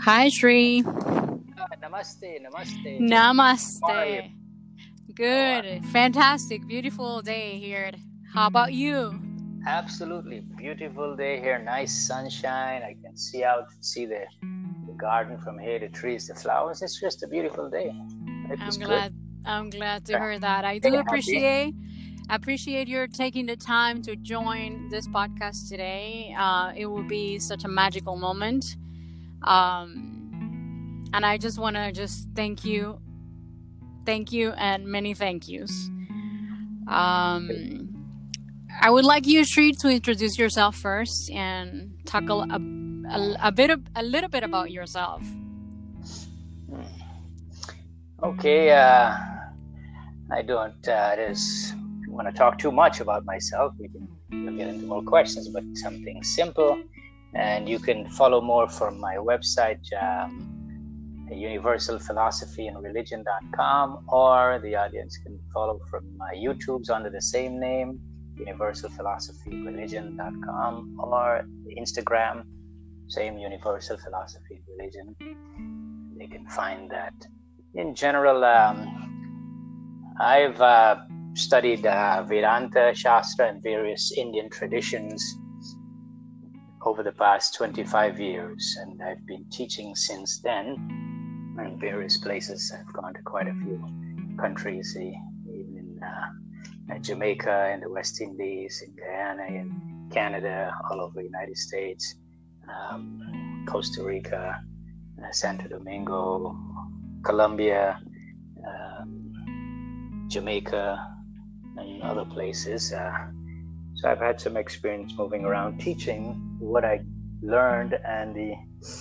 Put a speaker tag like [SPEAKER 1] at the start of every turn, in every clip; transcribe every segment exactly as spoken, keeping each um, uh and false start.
[SPEAKER 1] Hi, Shri.
[SPEAKER 2] Ah, namaste, namaste. Jim. How are you?
[SPEAKER 1] Namaste.
[SPEAKER 2] Oh, uh,
[SPEAKER 1] Good. Fantastic. Beautiful day here. How about you?
[SPEAKER 2] absolutely beautiful day here. Nice sunshine. I can see out, see the, the garden from here, the trees, the flowers. It's just a beautiful day. Life is
[SPEAKER 1] I'm
[SPEAKER 2] good.
[SPEAKER 1] glad. I'm glad to
[SPEAKER 2] Yeah.
[SPEAKER 1] hear that. I
[SPEAKER 2] Hey,
[SPEAKER 1] do
[SPEAKER 2] happy.
[SPEAKER 1] appreciate appreciate your taking the time to join this podcast today. Uh, it will be such a magical moment. Um, and I just want to just thank you, thank you, and many thank yous. Um, I would like you, Shri, to introduce yourself first and talk a, a, a, a bit of, a little bit about yourself.
[SPEAKER 2] Hmm. Okay. Uh, I don't uh, just want to talk too much about myself. We can we'll get into more questions, but something simple. And you can follow more from my website, um, universal philosophy and religion dot com, or the audience can follow from my YouTube's under the same name, universal philosophy religion dot com, or Instagram, same universal philosophy religion. They can find that. In general, um, I've uh, studied uh, Vedanta Shastra and various Indian traditions over the past twenty-five years, and I've been teaching since then in various places. I've gone to quite a few countries, even in uh, Jamaica, in the West Indies, in Guyana, in Canada, all over the United States, um, Costa Rica, uh, Santo Domingo, Colombia, um, Jamaica, and other places. Uh, so I've had some experience moving around teaching what I learned and the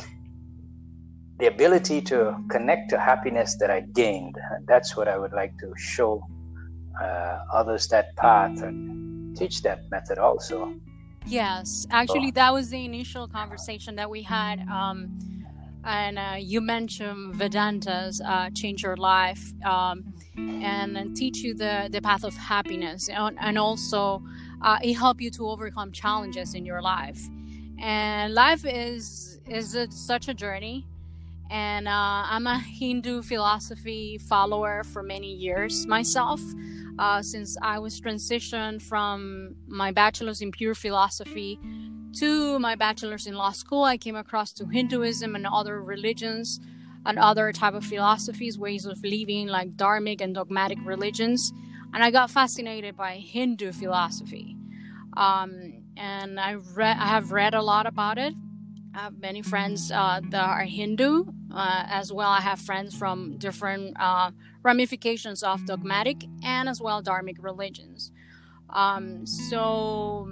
[SPEAKER 2] the ability to connect to happiness that I gained. And that's what I would like to show uh, others that path and teach that method also.
[SPEAKER 1] Yes, actually, that was the initial conversation that we had. Um, and uh, you mentioned Vedantas uh, change your life um, and teach you the, the path of happiness. And, and also, uh, it help you to overcome challenges in your life. And life is, is a, such a journey. And uh, I'm a Hindu philosophy follower for many years myself. Uh, since I was transitioned from my bachelor's in pure philosophy to my bachelor's in law school, I came across to Hinduism and other religions and other type of philosophies, ways of living like dharmic and dogmatic religions. And I got fascinated by Hindu philosophy. Um, and I read, I have read a lot about it. I have many friends uh, that are Hindu uh, as well. I have friends from different uh, ramifications of dogmatic and as well dharmic religions. Um, so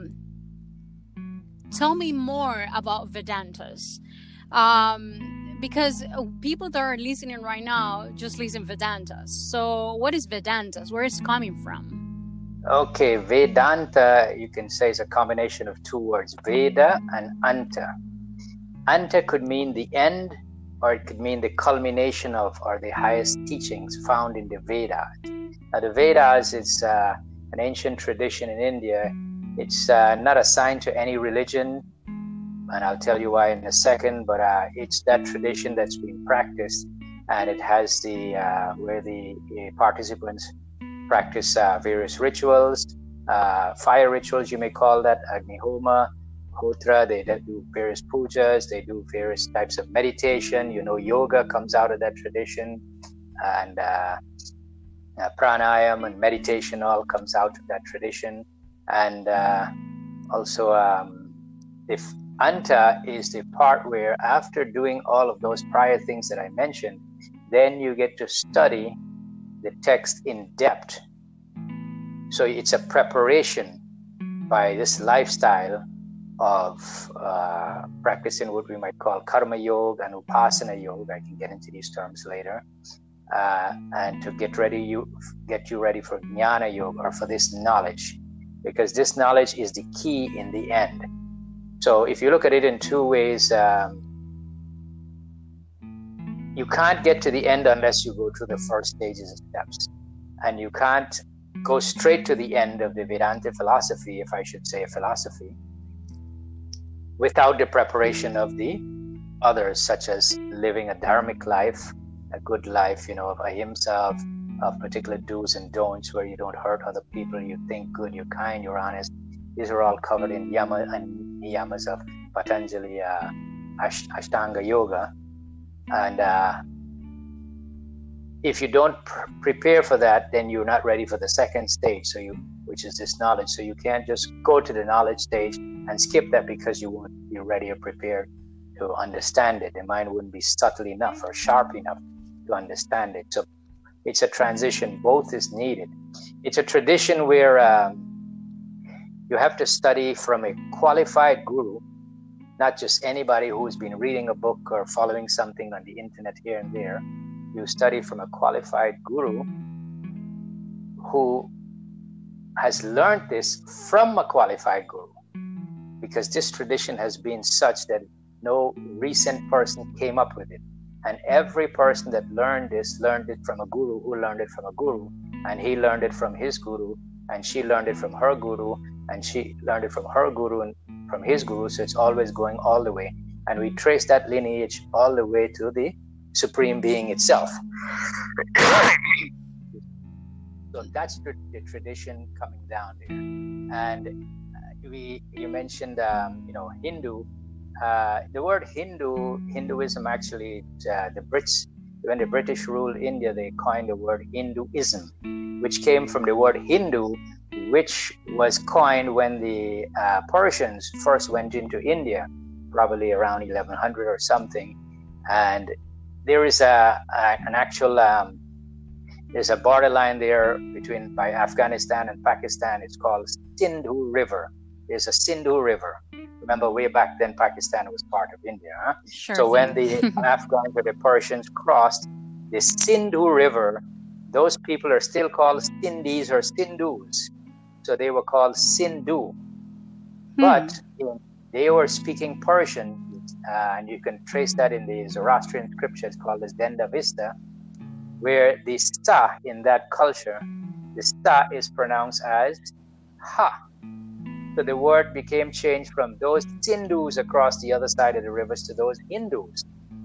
[SPEAKER 1] tell me more about Vedantas. Um, because people that are listening right now just listen Vedantas. So what is Vedantas? Where is it coming from?
[SPEAKER 2] Okay, Vedanta, you can say, is a combination of two words, Veda and Anta. Anta could mean the end, or it could mean the culmination of, or the highest teachings found in the Vedas. Now, the Vedas is uh, an ancient tradition in India. It's uh, not assigned to any religion, and I'll tell you why in a second, but uh, it's that tradition that's been practiced, and it has the, uh, where the uh, participants practice uh, various rituals, uh, fire rituals, you may call that, Agnihoma, Hotra, they do various pujas, they do various types of meditation. You know, yoga comes out of that tradition, and uh, uh, pranayam and meditation all comes out of that tradition. And uh, also, um, if Anta is the part where after doing all of those prior things that I mentioned, then you get to study the text in depth. So it's a preparation by this lifestyle of uh, practicing what we might call karma yoga and upasana yoga. I can get into these terms later. Uh, and to get ready, you get you ready for jnana yoga, or for this knowledge, because this knowledge is the key in the end. So if you look at it in two ways, um, you can't get to the end unless you go through the first stages and steps, and you can't go straight to the end of the Vedanta philosophy, if I should say a philosophy, without the preparation of the others, such as living a dharmic life, a good life, you know, of ahimsa, of, of particular do's and don'ts, where you don't hurt other people, you think good, you're kind, you're honest. These are all covered in yama and niyamas of Patanjali uh, Ash- Ashtanga Yoga. And uh, if you don't pr- prepare for that, then you're not ready for the second stage, so you, which is this knowledge. So you can't just go to the knowledge stage and skip that because you won't be ready or prepared to understand it. The mind wouldn't be subtle enough or sharp enough to understand it. So it's a transition. Both is needed. It's a tradition where um, you have to study from a qualified guru, not just anybody who's been reading a book or following something on the internet here and there. You study from a qualified guru who has learned this from a qualified guru, because this tradition has been such that no recent person came up with it. And every person that learned this learned it from a guru who learned it from a guru, and he learned it from his guru, and she learned it from her guru, and she learned it from her guru and from his guru. So it's always going all the way. And we trace that lineage all the way to the Supreme Being itself. So that's the, the tradition coming down there. And uh, we, you mentioned, um, you know, Hindu. Uh, the word Hindu, Hinduism actually, uh, the Brits, when the British ruled India, they coined the word Hinduism, which came from the word Hindu, which was coined when the uh, Persians first went into India, probably around eleven hundred or something. And there is a, a an actual um, there's a borderline there between by Afghanistan and Pakistan. It's called Sindhu River. There's a Sindhu River. Remember, way back then, Pakistan was part of India. Huh?
[SPEAKER 1] Sure
[SPEAKER 2] so
[SPEAKER 1] thing.
[SPEAKER 2] When the Afghans or the Persians crossed the Sindhu River, those people are still called Sindhis or Sindhus. So they were called Sindhu. Hmm. But in, they were speaking Persian, uh, and you can trace that in the Zoroastrian scriptures called as Denda Vista, where the sa in that culture, the sa is pronounced as ha. So the word became changed from those Sindhus across the other side of the rivers to those Hindus.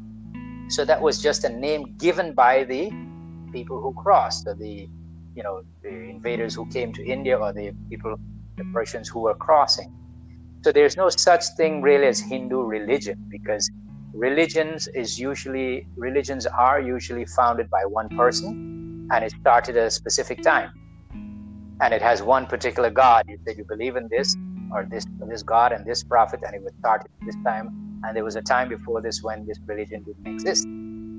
[SPEAKER 2] So that was just a name given by the people who crossed, or the, you know, the invaders who came to India, or the people, the Persians who were crossing. So there's no such thing really as Hindu religion, because religions is usually religions are usually founded by one person, and it started at a specific time. And it has one particular God. You said you believe in this or this this God and this prophet, and it was started at this time. And there was a time before this when this religion didn't exist.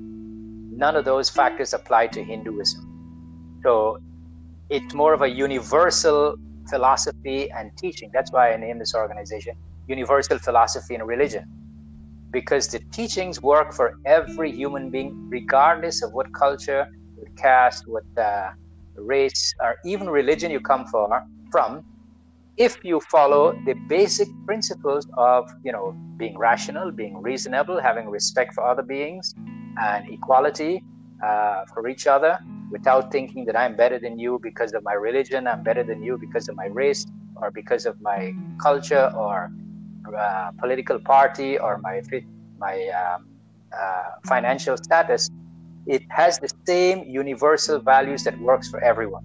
[SPEAKER 2] None of those factors apply to Hinduism. So it's more of a universal philosophy and teaching. That's why I named this organization Universal Philosophy and Religion, because the teachings work for every human being, regardless of what culture, what caste, what uh, race, or even religion you come for, from, if you follow the basic principles of, you know, being rational, being reasonable, having respect for other beings, and equality uh, for each other, without thinking that I'm better than you because of my religion, I'm better than you because of my race, or because of my culture, or uh, political party, or my my um, uh, financial status. It has the same universal values that works for everyone.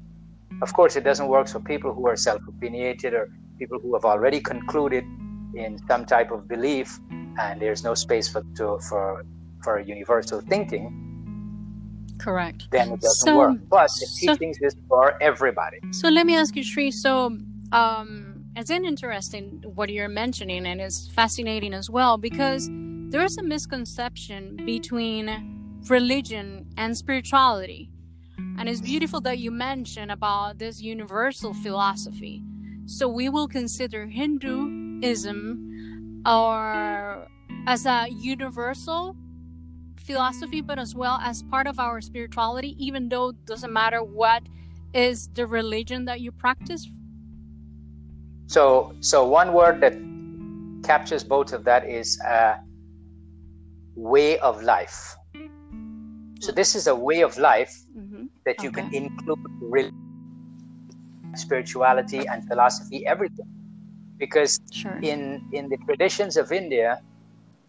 [SPEAKER 2] Of course, it doesn't work for people who are self-opinionated, or people who have already concluded in some type of belief, and there's no space for to, for for universal thinking.
[SPEAKER 1] Correct.
[SPEAKER 2] Then it doesn't
[SPEAKER 1] so,
[SPEAKER 2] work. But the
[SPEAKER 1] so,
[SPEAKER 2] teachings is for everybody.
[SPEAKER 1] So let me ask you, Sri. So um, it's interesting what you're mentioning, and it's fascinating as well, because there is a misconception between religion and spirituality, and it's beautiful that you mentioned about this universal philosophy. So we will consider Hinduism or as a universal philosophy, but as well as part of our spirituality, even though it doesn't matter what is the religion that you practice.
[SPEAKER 2] So, so one word that captures both of that is uh, way of life. So this is a way of life mm-hmm. that you okay. can include religion, spirituality, and philosophy, everything. Because
[SPEAKER 1] sure.
[SPEAKER 2] in, in the traditions of India,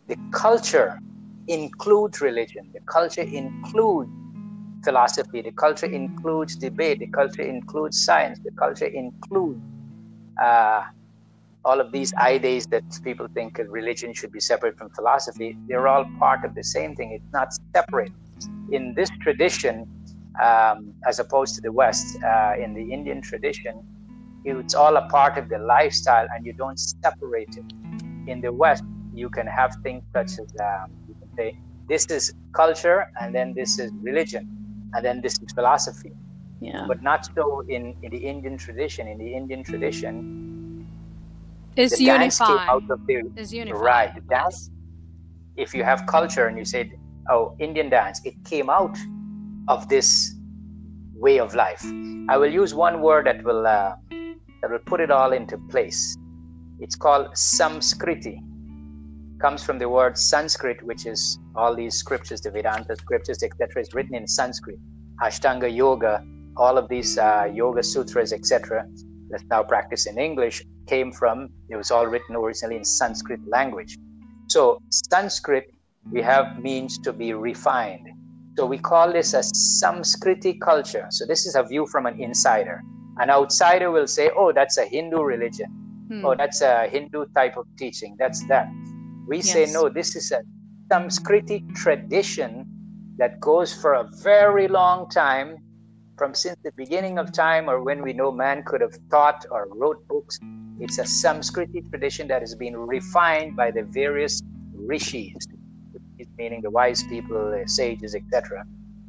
[SPEAKER 2] the culture includes religion, the culture includes philosophy, the culture includes debate, the culture includes science, the culture includes uh, all of these ideas that people think religion should be separate from philosophy. They're all part of the same thing. It's not separate. In this tradition, um, as opposed to the West, uh, in the Indian tradition, it's all a part of the lifestyle and you don't separate it. In the West, you can have things such as, um, you can say, this is culture and then this is religion and then this is philosophy.
[SPEAKER 1] Yeah.
[SPEAKER 2] But not so in, in the Indian tradition. In the Indian tradition,
[SPEAKER 1] it's
[SPEAKER 2] the
[SPEAKER 1] unified.
[SPEAKER 2] dance came out of the,
[SPEAKER 1] it's unified.
[SPEAKER 2] Right. The dance, if you have culture and you say, oh, Indian dance, it came out of this way of life. I will use one word that will uh, that will put it all into place. It's called Samskriti. Comes from the word Sanskrit, which is all these scriptures, the Vedanta scriptures, et cetera, is written in Sanskrit. Ashtanga Yoga, all of these uh, Yoga Sutras, et cetera, that's now practiced in English, came from, it was all written originally in Sanskrit language. So Sanskrit, we have means to be refined. So we call this a Samskriti culture. So this is a view from an insider. An outsider will say, oh, that's a Hindu religion. Hmm. Oh, that's a Hindu type of teaching. That's that. We yes. say, no, this is a Samskriti tradition that goes for a very long time, from since the beginning of time, or when we know man could have thought or wrote books. It's a Samskriti tradition that has been refined by the various rishis, meaning the wise people, the sages, et cetera.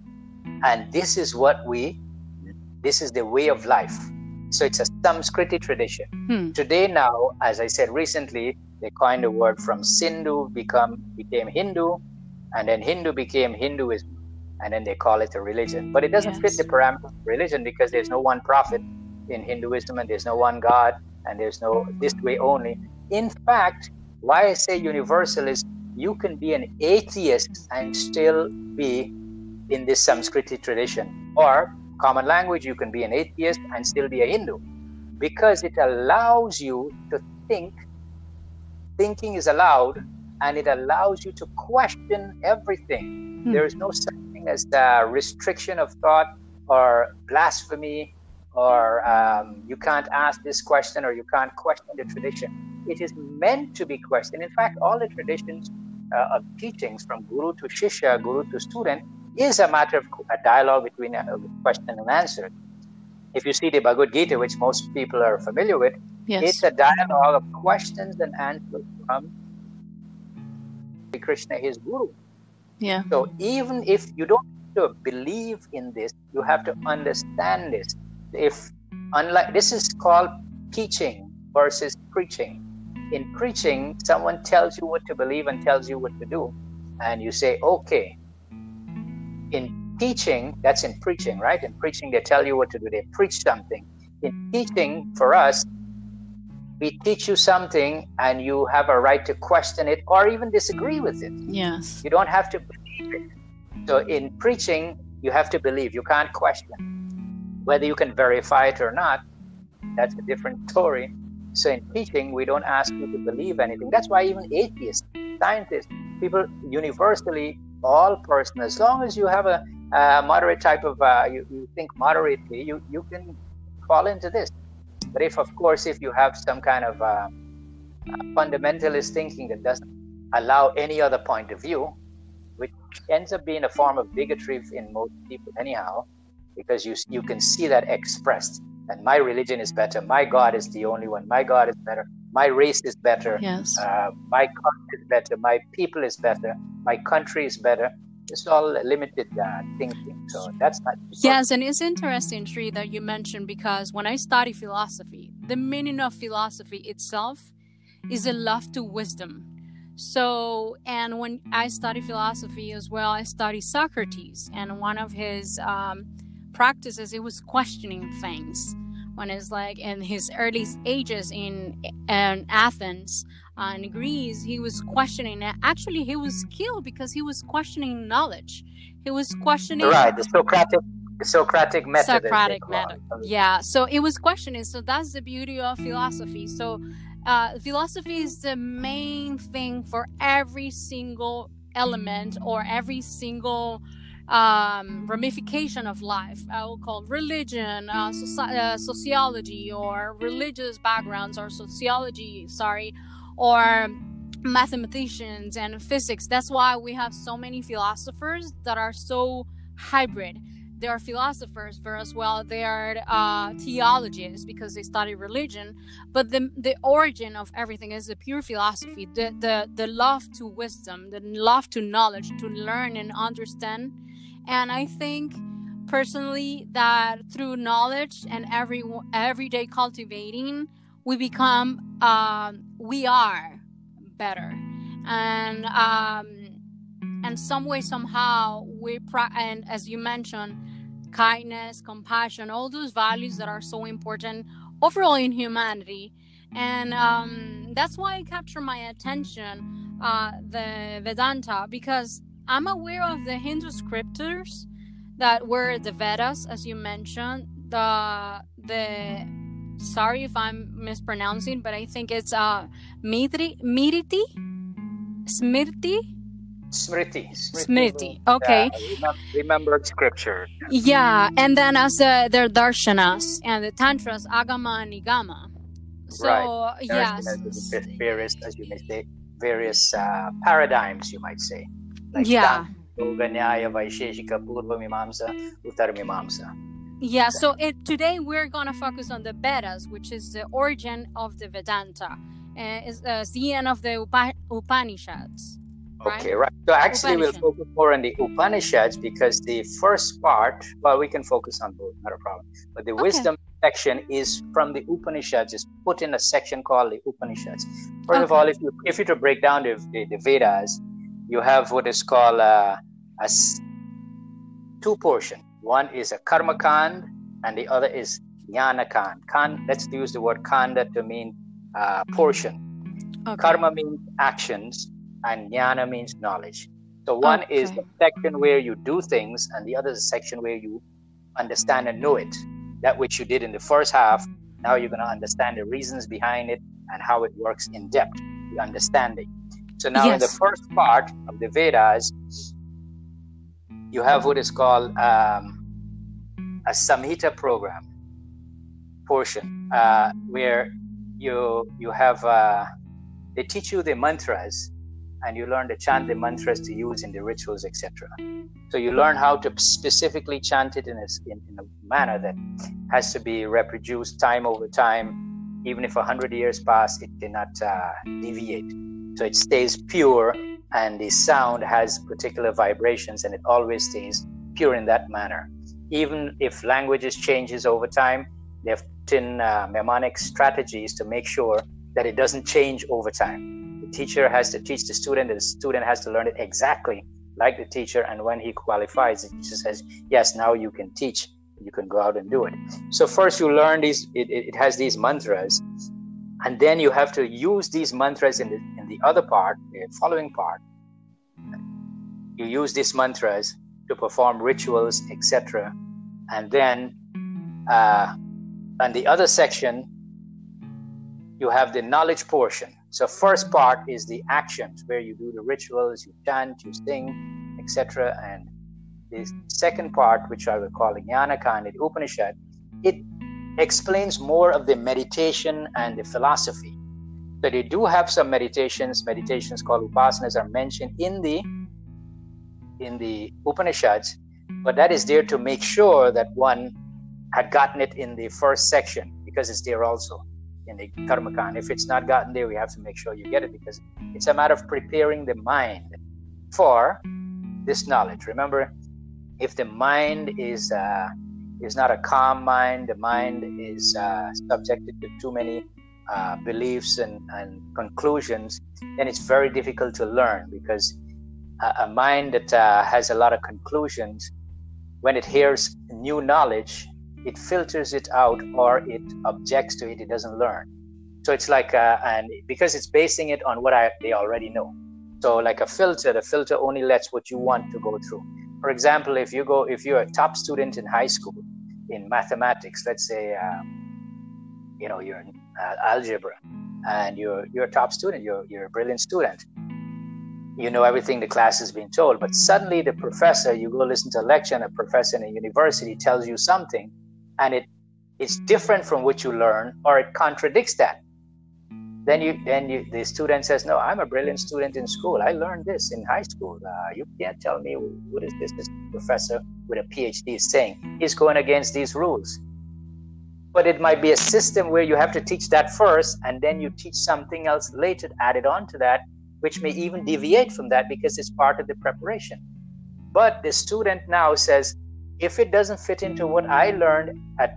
[SPEAKER 2] And this is what we, this is the way of life. So it's a Samskriti tradition. Hmm. Today now, as I said recently, they coined the word from Sindhu become became Hindu, and then Hindu became Hinduism, and then they call it a religion. But it doesn't yes. fit the parameters of religion because there's no one prophet in Hinduism, and there's no one God, and there's no this way only. In fact, why I say universal is you can be an atheist and still be in this Samskriti tradition. Or common language, you can be an atheist and still be a Hindu, because it allows you to think. Thinking is allowed, and it allows you to question everything. Hmm. There is no such thing as the restriction of thought or blasphemy, or um, you can't ask this question or you can't question the tradition. It is meant to be questioned. In fact, all the traditions uh, of teachings from guru to shishya, guru to student, is a matter of a dialogue between a question and answer. If you see the Bhagavad Gita, which most people are familiar with, yes. it's a dialogue of questions and answers from Krishna, his guru.
[SPEAKER 1] Yeah.
[SPEAKER 2] So even if you don't have to believe in this, you have to understand this. If unlike this is called teaching versus preaching. In preaching, someone tells you what to believe and tells you what to do, and you say, okay. In teaching, that's in preaching, right? In preaching, they tell you what to do. They preach something. In teaching, for us, we teach you something and you have a right to question it or even disagree with it.
[SPEAKER 1] Yes.
[SPEAKER 2] You don't have to believe it. So in preaching, you have to believe. You can't question. Whether you can verify it or not, that's a different story. So in teaching, we don't ask you to believe anything. That's why even atheists, scientists, people universally, all person, as long as you have a, a moderate type of, uh, you, you think moderately, you, you can fall into this. But if, of course, if you have some kind of uh, fundamentalist thinking that doesn't allow any other point of view, which ends up being a form of bigotry in most people anyhow, because you you can see that expressed. And my religion is better. My God is the only one. My God is better. My race is better.
[SPEAKER 1] Yes.
[SPEAKER 2] Uh, my culture is better. My people is better. My country is better. It's all limited uh, thinking. So that's not.
[SPEAKER 1] Yes, and it's interesting, Sri, that you mentioned, because when I study philosophy, the meaning of philosophy itself is a love to wisdom. So, and when I study philosophy as well, I study Socrates, and one of his um, practices, it was questioning things. When it's like in his early ages in, in Athens uh, in Greece, he was questioning. Actually, he was killed because he was questioning knowledge. He was questioning.
[SPEAKER 2] Right, the Socratic The Socratic method.
[SPEAKER 1] Socratic method. Yeah. So it was questioning. So that's the beauty of philosophy. So uh, philosophy is the main thing for every single element or every single um, ramification of life. I will call religion, uh, soci- uh, sociology, or religious backgrounds, or sociology, sorry, or mathematicians and physics. That's why we have so many philosophers that are so hybrid. They are philosophers, but as well they are uh, theologians because they study religion. But the the origin of everything is the pure philosophy, the the the love to wisdom, the love to knowledge, to learn and understand. And I think personally that through knowledge and every everyday cultivating, we become um, we are better, and um, and some way somehow we pra- and as you mentioned, kindness, compassion, all those values that are so important overall in humanity. And um, that's why it captured my attention, uh, the Vedanta, because I'm aware of the Hindu scriptures that were the Vedas, as you mentioned. The the sorry if I'm mispronouncing, but I think it's uh Mitri, Miriti, Smriti.
[SPEAKER 2] Smriti.
[SPEAKER 1] Smriti. Okay.
[SPEAKER 2] Uh, remembered scripture.
[SPEAKER 1] Yeah, and then as uh, their darshanas and the tantras, agama and nigama. So
[SPEAKER 2] right.
[SPEAKER 1] yes,
[SPEAKER 2] various, as you may say, various uh, paradigms, you might say. Like
[SPEAKER 1] yeah.
[SPEAKER 2] Yoga, Nyaya, Vaisheshika, Purva Mimamsa, Uttar Mimamsa.
[SPEAKER 1] Yeah. So it, today we're gonna focus on the Vedas, which is the origin of the Vedanta, and it's uh, the end of the Upa- Upanishads.
[SPEAKER 2] Right? Okay, right. So actually we'll focus more on the Upanishads because the first part, well, we can focus on both, not a problem. But the okay. wisdom section is from the Upanishads, is put in a section called the Upanishads. First okay. of all, if you if you to break down the, the, the Vedas, you have what is called uh, a two portion. One is a Karma Kand and the other is Jnana Kand. Kand, let's use the word Kanda to mean uh, portion. Okay. Karma means actions, and Jnana means knowledge. So one okay. is the section where you do things, and the other is a section where you understand and know it. That which you did in the first half, now you're going to understand the reasons behind it and how it works in depth, the understanding. So now yes. in the first part of the Vedas, you have what is called um, a Samhita program portion, uh, where you you have, uh, they teach you the mantras, and you learn to chant the mantras to use in the rituals, et cetera. So you learn how to specifically chant it in a, in, in a manner that has to be reproduced time over time. Even if a hundred years pass, it cannot uh, deviate. So it stays pure, and the sound has particular vibrations, and it always stays pure in that manner. Even if languages changes over time, they've put in uh, mnemonic strategies to make sure that it doesn't change over time. Teacher has to teach the student, and the student has to learn it exactly like the teacher, and when he qualifies, the teacher says, yes, now you can teach, you can go out and do it. So first you learn these, it, it has these mantras, and then you have to use these mantras in the in the other part, the following part. You use these mantras to perform rituals, et cetera. And then uh, on the other section, you have the knowledge portion. So first part is the actions, where you do the rituals, you chant, you sing, et cetera. And the second part, which I will call Jnana Kand, the Upanishad, it explains more of the meditation and the philosophy. So they do have some meditations, meditations called upasanas are mentioned in the in the Upanishads, but that is there to make sure that one had gotten it in the first section, because it's there also in the Karma Kand. If it's not gotten there, we have to make sure you get it, because it's a matter of preparing the mind for this knowledge. Remember, if the mind is uh, is not a calm mind, the mind is uh, subjected to too many uh, beliefs and, and conclusions, then it's very difficult to learn, because a, a mind that uh, has a lot of conclusions, when it hears new knowledge, it filters it out, or it objects to it, it doesn't learn. So it's like, uh, and because it's basing it on what I, they already know. So like a filter, the filter only lets what you want to go through. For example, if you go, if you're a top student in high school in mathematics, let's say, um, you know, you're in uh, algebra, and you're you're a top student, you're you're a brilliant student. You know everything the class has been told, but suddenly the professor, you go listen to a lecture, and a professor in a university tells you something, and it it's different from what you learn, or it contradicts that. Then you, then you, the student says, "No, I'm a brilliant student in school. I learned this in high school. Uh, you can't tell me what is this this professor with a P H D is saying. He's going against these rules." But it might be a system where you have to teach that first, and then you teach something else later added on to that, which may even deviate from that because it's part of the preparation. But the student now says, if it doesn't fit into what I learned at,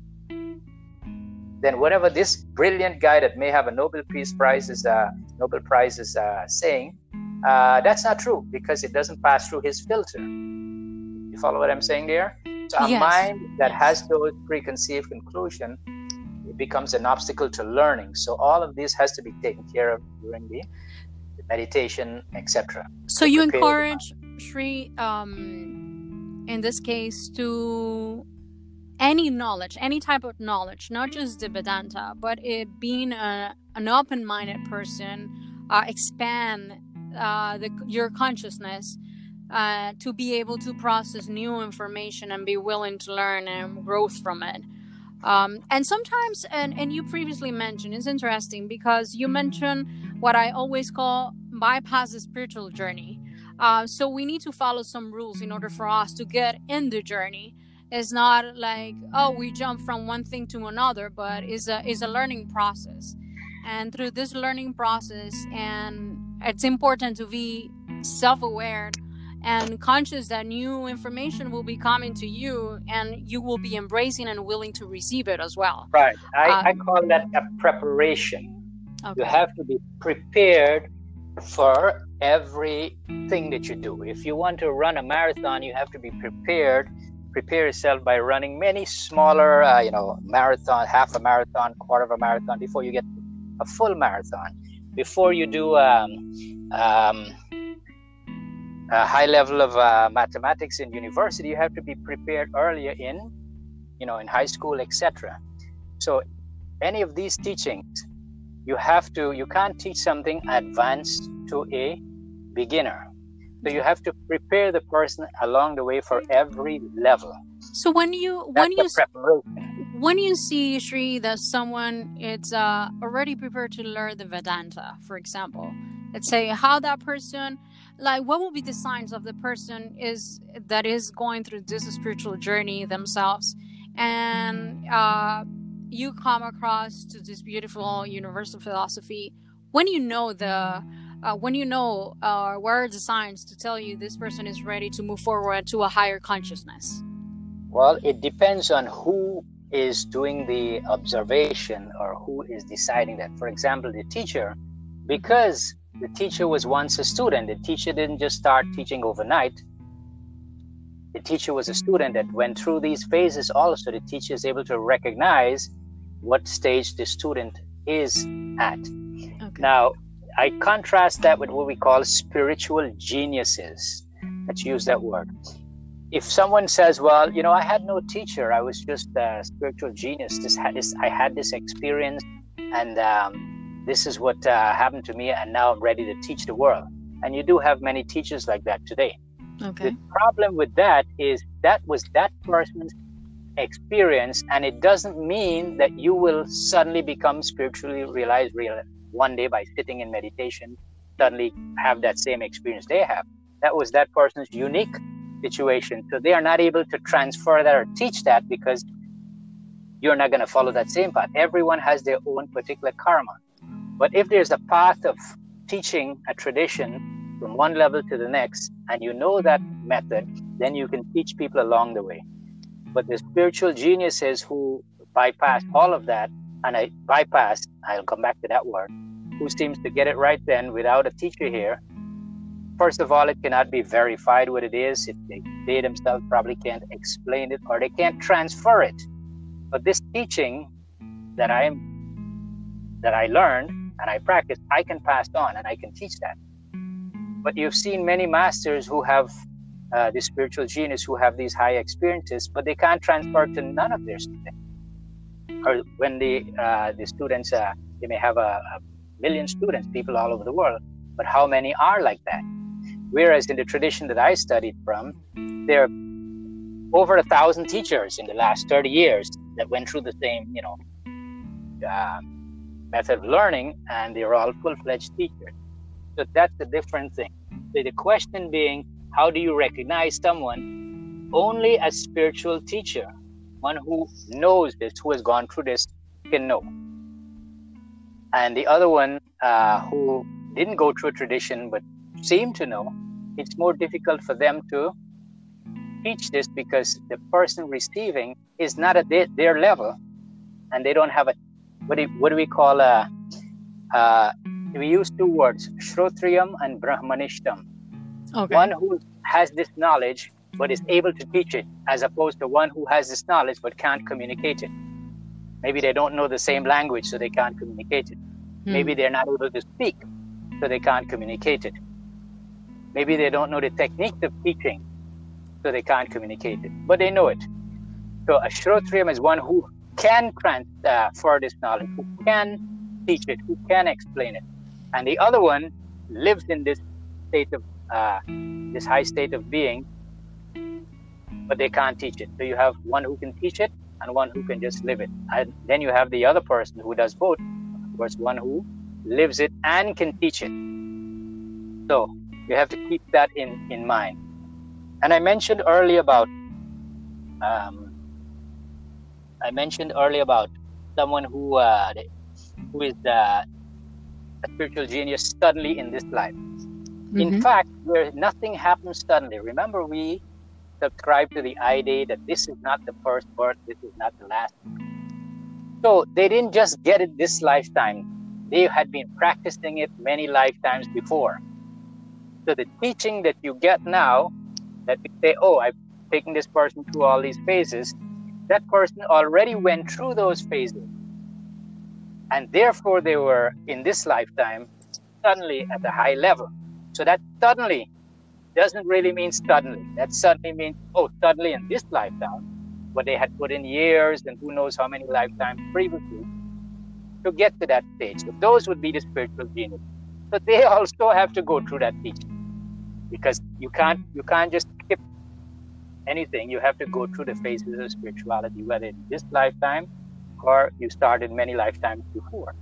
[SPEAKER 2] then whatever this brilliant guy that may have a Nobel Peace Prize is uh, Nobel Prize is uh, saying, uh, that's not true because it doesn't pass through his filter. You follow what I'm saying there? So a
[SPEAKER 1] Yes.
[SPEAKER 2] mind that
[SPEAKER 1] Yes.
[SPEAKER 2] has those preconceived conclusions, it becomes an obstacle to learning. So all of this has to be taken care of during the, the meditation, et cetera.
[SPEAKER 1] So you encourage Sri, um, in this case, to any knowledge, any type of knowledge, not just the Vedanta, but it being a, an open-minded person, uh, expand uh, the, your consciousness uh, to be able to process new information and be willing to learn and growth from it. Um, and sometimes, and, and you previously mentioned, it's interesting because you mentioned what I always call bypass the spiritual journey. Uh, so we need to follow some rules in order for us to get in the journey. It's not like, oh, we jump from one thing to another, but it's a, it's a learning process. And through this learning process, and it's important to be self-aware and conscious that new information will be coming to you, and you will be embracing and willing to receive it as well.
[SPEAKER 2] Right. I,
[SPEAKER 1] Uh,
[SPEAKER 2] I call that a preparation.
[SPEAKER 1] Okay.
[SPEAKER 2] You have to be prepared for everything that you do. If you want to run a marathon, you have to be prepared. Prepare yourself by running many smaller, uh, you know, marathon, half a marathon, quarter of a marathon before you get a full marathon. Before you do um, um, a high level of uh, mathematics in university, you have to be prepared earlier in, you know, in high school, et cetera. So any of these teachings, you have to, you can't teach something advanced to a beginner. So you have to prepare the person along the way for every level.
[SPEAKER 1] So when you
[SPEAKER 2] That's
[SPEAKER 1] when you
[SPEAKER 2] the preparation.
[SPEAKER 1] when you see, Sri, that someone is uh, already prepared to learn the Vedanta, for example, let's say how that person, like, what will be the signs of the person is that is going through this spiritual journey themselves, and uh, you come across to this beautiful universal philosophy. When you know the uh, when you know uh, what are the signs to tell you this person is ready to move forward to a higher consciousness?
[SPEAKER 2] Well, it depends on who is doing the observation or who is deciding that. For example, the teacher, because the teacher was once a student, the teacher didn't just start teaching overnight. The teacher was a student that went through these phases also. The teacher is able to recognize what stage the student is at.
[SPEAKER 1] Okay.
[SPEAKER 2] Now, I contrast that with what we call spiritual geniuses. Let's use that word. If someone says, well, you know, I had no teacher, I was just a spiritual genius. This had this, I had this experience, and um, this is what uh, happened to me, and now I'm ready to teach the world. And you do have many teachers like that today.
[SPEAKER 1] Okay.
[SPEAKER 2] The problem with that is that was that person's experience, and it doesn't mean that you will suddenly become spiritually realized real one day by sitting in meditation, suddenly have that same experience they have. That was that person's unique situation. So they are not able to transfer that or teach that because you're not going to follow that same path. Everyone has their own particular karma. But if there's a path of teaching a tradition from one level to the next, and you know that method, then you can teach people along the way. But the spiritual geniuses who bypass all of that, and I bypass, I'll come back to that word, who seems to get it right then without a teacher here. First of all, it cannot be verified what it is. If they, they themselves probably can't explain it, or they can't transfer it. But this teaching that I that I learned and I practice, I can pass on and I can teach that. But you've seen many masters who have uh, the spiritual genius who have these high experiences, but they can't transfer to none of their students. Or when the uh, the students, uh, they may have a, a million students, people all over the world, but how many are like that? Whereas in the tradition that I studied from, there are over a thousand teachers in the last thirty years that went through the same, you know, uh, method of learning, and they're all full-fledged teachers. So that's a different thing. So the question being, how do you recognize someone only as spiritual teacher? One who knows this, who has gone through this, can know. And the other one uh, who didn't go through a tradition but seemed to know, it's more difficult for them to teach this because the person receiving is not at their, their level, and they don't have a, what do, what do we call a, uh, we use two words, Shrotriyam and Brahmanishtam.
[SPEAKER 1] Okay.
[SPEAKER 2] One who has this knowledge but is able to teach it, as opposed to one who has this knowledge but can't communicate it. Maybe they don't know the same language, so they can't communicate it. Hmm. Maybe they're not able to speak, so they can't communicate it. Maybe they don't know the technique of teaching, so they can't communicate it, but they know it. So a Shrotriyam is one who can transfer this knowledge, who can teach it, who can explain it. And the other one lives in this state of, uh, this high state of being, but they can't teach it. So you have one who can teach it and one who can just live it. And then you have the other person who does both. Of course, one who lives it and can teach it. So you have to keep that in, in mind. And I mentioned earlier about, um, I mentioned earlier about someone who uh, who is uh, a spiritual genius suddenly in this life. Mm-hmm. In fact, where nothing happens suddenly. Remember, we subscribe to the idea that this is not the first birth, this is not the last. So they didn't just get it this lifetime. They had been practicing it many lifetimes before. So the teaching that you get now, that we say, oh, I've taken this person through all these phases, that person already went through those phases. And therefore they were, in this lifetime, suddenly at a high level. So that suddenly doesn't really mean suddenly. That suddenly means, oh, suddenly in this lifetime, but they had put in years and who knows how many lifetimes previously to get to that stage. So those would be the spiritual genius. But they also have to go through that teaching, because you can't you can't just skip anything. You have to go through the phases of spirituality, whether in this lifetime or you started many lifetimes before.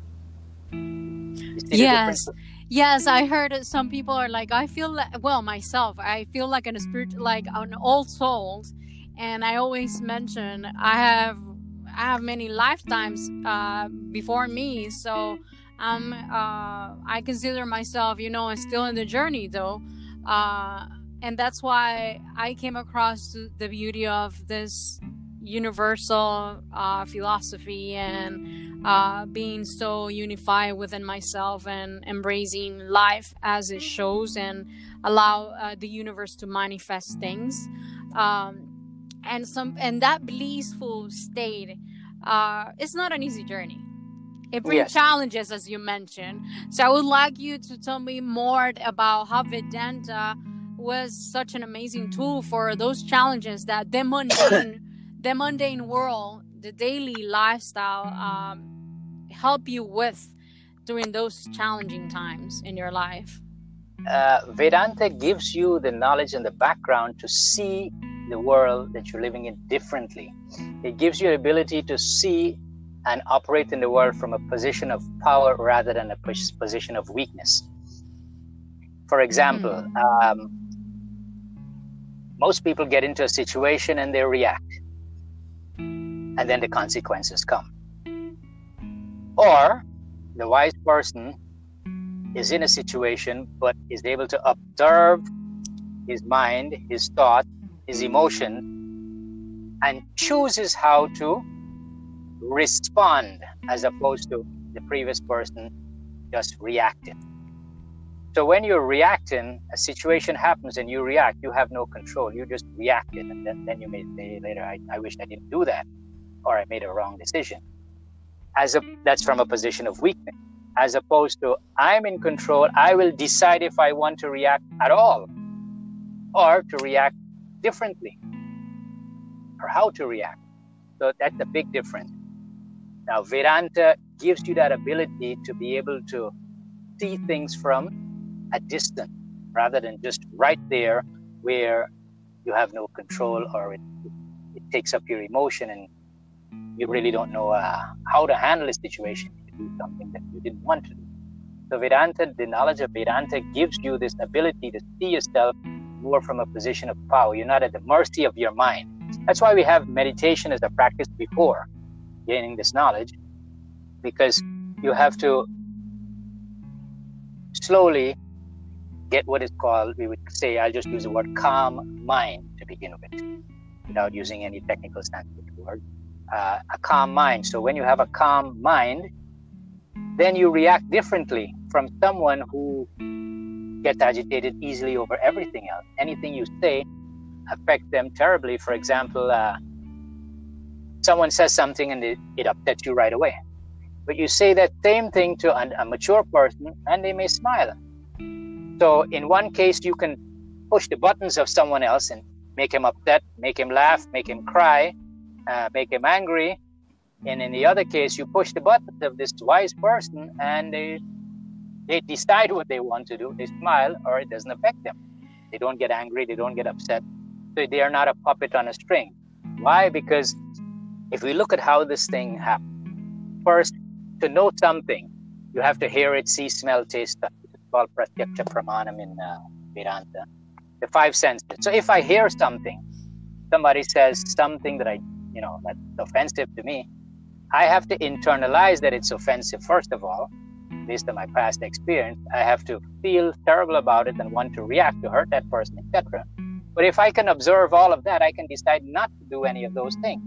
[SPEAKER 1] Yes. Yes, I heard some people are like, I feel like, well, myself, I feel like in a spirit, like an old soul, and I always mention I have, I have many lifetimes uh, before me, so um, uh, I consider myself, you know, still in the journey though, uh, and that's why I came across the beauty of this universal uh, philosophy and uh, being so unified within myself and embracing life as it shows and allow uh, the universe to manifest things, um, and some and that blissful state uh, it's not an easy journey. It brings yes. challenges, as you mentioned. So I would like you to tell me more about how Vedanta was such an amazing tool for those challenges that the mundane the mundane world, the daily lifestyle, um, help you with during those challenging times in your life.
[SPEAKER 2] Uh, Vedanta gives you the knowledge and the background to see the world that you're living in differently. It gives you the ability to see and operate in the world from a position of power rather than a position of weakness. For example, mm. um, most people get into a situation and they react. And then the consequences come. Or the wise person is in a situation but is able to observe his mind, his thought, his emotion, and chooses how to respond as opposed to the previous person just reacting. So when you're reacting, a situation happens and you react, you have no control. You just reacted, and then, then you may say later, I, I wish I didn't do that, or I made a wrong decision. As a, that's from a position of weakness. As opposed to, I'm in control, I will decide if I want to react at all, or to react differently or how to react. So that's a big difference. Now, Vedanta gives you that ability to be able to see things from a distance rather than just right there where you have no control, or it, it takes up your emotion and you really don't know uh, how to handle a situation to do something that you didn't want to do. So Vedanta, the knowledge of Vedanta gives you this ability to see yourself more from a position of power. You're not at the mercy of your mind. That's why we have meditation as a practice before gaining this knowledge, because you have to slowly get what is called, we would say, I'll just use the word calm mind to begin with, without using any technical Sanskrit word. Uh, a calm mind. So when you have a calm mind, then you react differently from someone who gets agitated easily over everything else. Anything you say affects them terribly. For example, uh, someone says something and it, it upsets you right away. But you say that same thing to a, a mature person and they may smile. So in one case, you can push the buttons of someone else and make him upset, make him laugh, make him cry, uh, make him angry. And in the other case, you push the buttons of this wise person and they, they decide what they want to do. They smile, or it doesn't affect them. They don't get angry, they don't get upset. So they are not a puppet on a string. Why? Because if we look at how this thing happened, first, to know something, you have to hear it, see, smell, taste, touch. It's called pratyakša pramanam in uh, Vedanta. The five senses. So if I hear something, somebody says something that I, you know, that's offensive to me, I have to internalize that it's offensive, first of all, based on my past experience. I have to feel terrible about it and want to react to hurt that person, et cetera. But if I can observe all of that, I can decide not to do any of those things.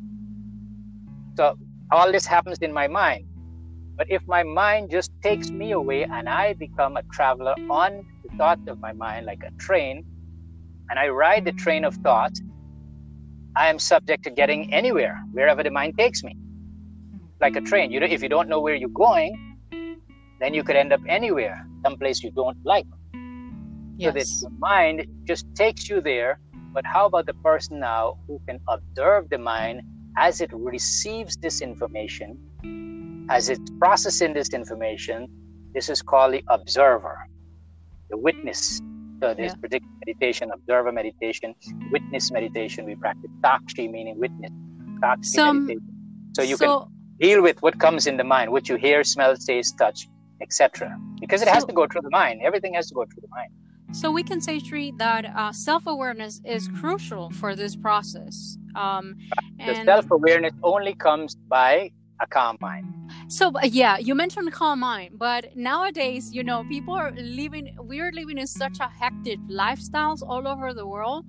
[SPEAKER 2] So all this happens in my mind. But if my mind just takes me away and I become a traveler on the thoughts of my mind like a train, and I ride the train of thoughts, I am subject to getting anywhere, wherever the mind takes me. Like a train, you know, if you don't know where you're going, then you could end up anywhere, someplace you don't like. Yes. So that the mind just takes you there. But how about the person now who can observe the mind as it receives this information, as it's processing this information? This is called the observer, the witness. So this yeah. particular meditation, observer meditation, witness meditation, we practice sakshi, meaning witness. Sakshi Some, meditation. So you so, can deal with what comes in the mind, what you hear, smell, taste, touch, et cetera. Because it so, has to go through the mind. Everything has to go through the mind.
[SPEAKER 1] So we can say, Sri, that uh, self-awareness is crucial for this process. Um,
[SPEAKER 2] and the self-awareness only comes by a calm mind.
[SPEAKER 1] So yeah, you mentioned calm mind, but nowadays, you know, people are living, we're living in such a hectic lifestyles all over the world.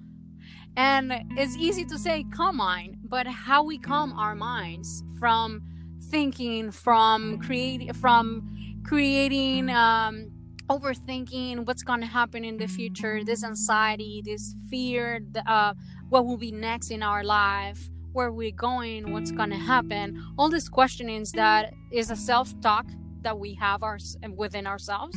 [SPEAKER 1] And it's easy to say calm mind, but how we calm our minds from thinking, from creating, from creating, um, overthinking what's going to happen in the future, this anxiety, this fear, the, uh, what will be next in our life, where we're going, what's going to happen, all these questionings that is a self-talk that we have our, within ourselves,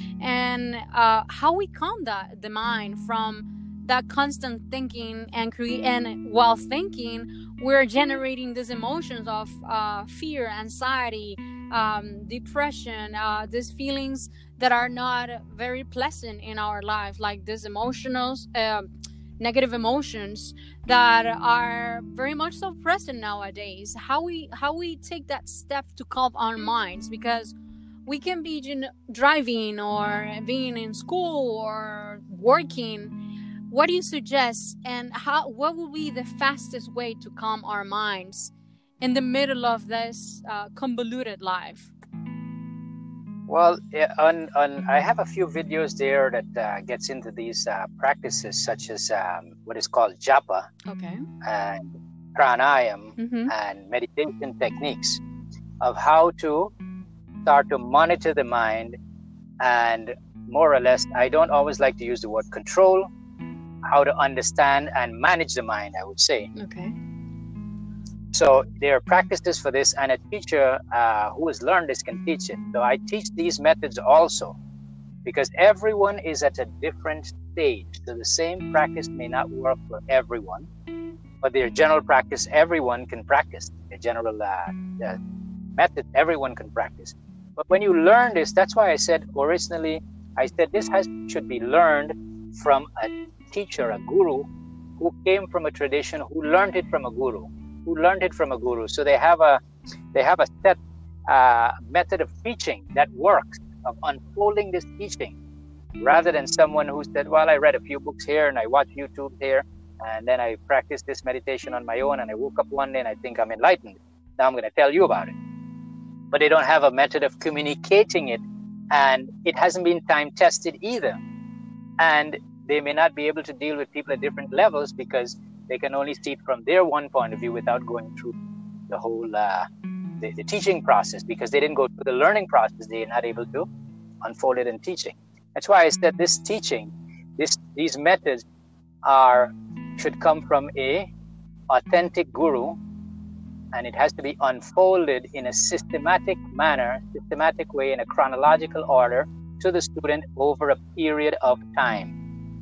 [SPEAKER 1] and uh, how we calm that, the mind from that constant thinking and create, and while thinking, we're generating these emotions of uh, fear, anxiety, um, depression, uh, these feelings that are not very pleasant in our life, like these emotional, uh, negative emotions that are very much so present nowadays. How we how we take that step to calm our minds, because we can be you know, driving or being in school or working. What do you suggest, and how? What will be the fastest way to calm our minds in the middle of this uh, convoluted life?
[SPEAKER 2] Well, on, on, I have a few videos there that uh, gets into these uh, practices, such as um, what is called japa,
[SPEAKER 1] okay,
[SPEAKER 2] and pranayam,
[SPEAKER 1] mm-hmm.
[SPEAKER 2] and meditation techniques of how to start to monitor the mind, and more or less, I don't always like to use the word control, how to understand and manage the mind, I would say.
[SPEAKER 1] Okay.
[SPEAKER 2] So there are practices for this, and a teacher uh, who has learned this can teach it. So I teach these methods also, because everyone is at a different stage. So the same practice may not work for everyone, but their general practice, everyone can practice. The general uh, uh, method, everyone can practice. But when you learn this, that's why I said originally, I said this has should be learned from a teacher, a guru, who came from a tradition, who learned it from a guru, who learned it from a guru. So they have a they have a set uh, method of teaching that works, of unfolding this teaching, rather than someone who said, well, I read a few books here and I watched YouTube here, and then I practiced this meditation on my own, and I woke up one day and I think I'm enlightened. Now I'm going to tell you about it. But they don't have a method of communicating it, and it hasn't been time tested either. And they may not be able to deal with people at different levels because they can only see it from their one point of view without going through the whole uh, the, the teaching process, because they didn't go through the learning process. They are not able to unfold it in teaching. That's why I said this teaching, this these methods are should come from a authentic guru, and it has to be unfolded in a systematic manner, systematic way, in a chronological order to the student over a period of time.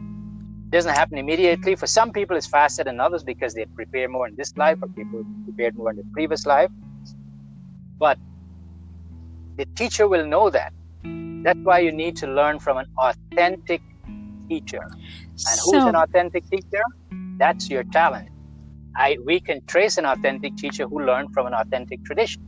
[SPEAKER 2] It doesn't happen immediately. For some people, it's faster than others because they prepare more in this life, or people prepared more in the previous life. But the teacher will know that. That's why you need to learn from an authentic teacher. And
[SPEAKER 1] So,
[SPEAKER 2] who's an authentic teacher? That's your talent. I we can trace an authentic teacher who learned from an authentic tradition.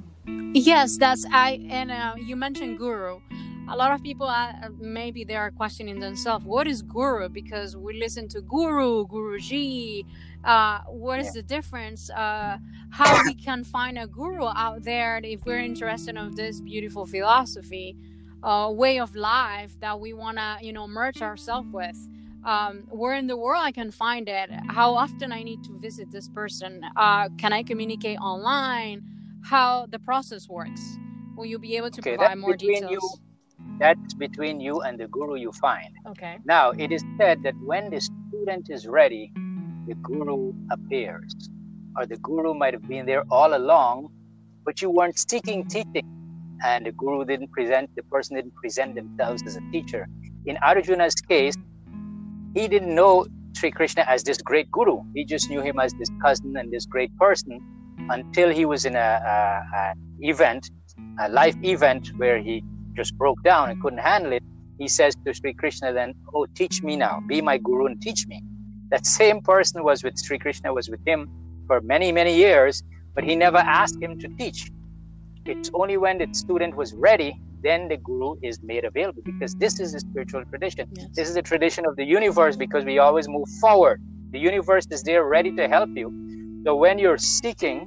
[SPEAKER 1] yes, that's I. And uh, you mentioned guru. A lot of people, uh, maybe they are questioning themselves, what is guru? Because we listen to guru, guruji. Uh, what is
[SPEAKER 2] Yeah.
[SPEAKER 1] the difference? Uh, how we can find a guru out there if we're interested in this beautiful philosophy, uh, way of life that we want to, you know, merge ourselves with. Um, where in the world I can find it? How often I need to visit this person? Uh, can I communicate online? How the process works? Will you be able to
[SPEAKER 2] Okay,
[SPEAKER 1] provide
[SPEAKER 2] that's
[SPEAKER 1] more
[SPEAKER 2] between you.
[SPEAKER 1] details?
[SPEAKER 2] That's between you and the guru you find.
[SPEAKER 1] Okay.
[SPEAKER 2] Now, it is said that when the student is ready, the guru appears. Or the guru might have been there all along, but you weren't seeking teaching. And the guru didn't present, the person didn't present themselves as a teacher. In Arjuna's case, he didn't know Sri Krishna as this great guru. He just knew him as this cousin and this great person until he was in a, a, a event, a life event where he just broke down and couldn't handle it. He says to Sri Krishna then, oh, teach me now, be my guru and teach me. That same person was with Sri Krishna, was with him for many, many years, but he never asked him to teach. It's only when the student was ready, then the guru is made available, because this is a spiritual tradition.
[SPEAKER 1] Yes.
[SPEAKER 2] This is a tradition of the universe, because we always move forward. The universe is there ready to help you. So when you're seeking,